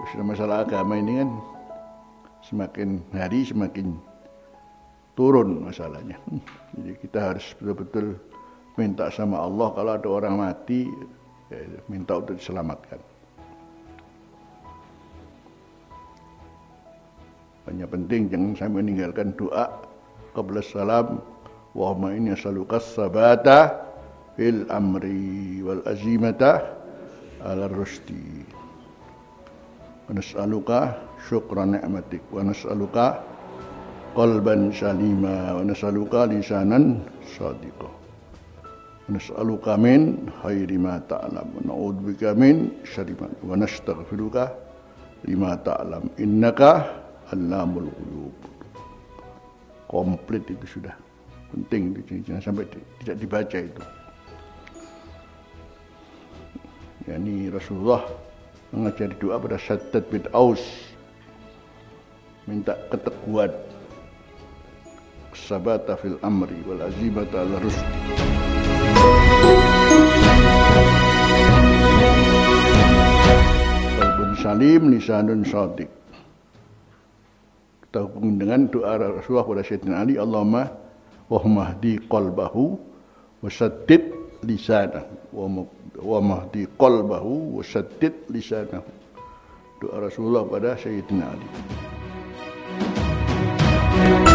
masalah agama ini kan semakin hari semakin turun masalahnya. Jadi kita harus betul-betul minta sama Allah kalau ada orang mati, ya, minta untuk diselamatkan. Hanya penting jangan sampai meninggalkan doa qabla salam, Allahumma inni as'aluka as-sabata fil amri wal azimata ala rusdi. Wa nas'aluka syukra ni'matik wa nas'aluka qalban salima wa nas'aluka lisanan shadiqa. Wa nas'aluka min khairi ma ta'lam wa na'udzubika min syarri ma wa nastaghfiruka lima ta'lam innaka allamul ghuyub. Komplit itu sudah. Penting itu, jangan sampai tidak dibaca itu. Yani Rasulullah mengajari doa pada Shaddad bin Aus, minta keteguhan, sabata fil amri wal azimata ala rusdi. Qalbun salim lisanun shadiq. Kita hubungi dengan doa Rasulullah pada Sayyidina Ali, Allahumma wahmahdi qalbahu wasaddid lisanahu wa mahdi qalbahu wasaddid lisanahu. Doa Rasulullah pada Sayyidina Ali.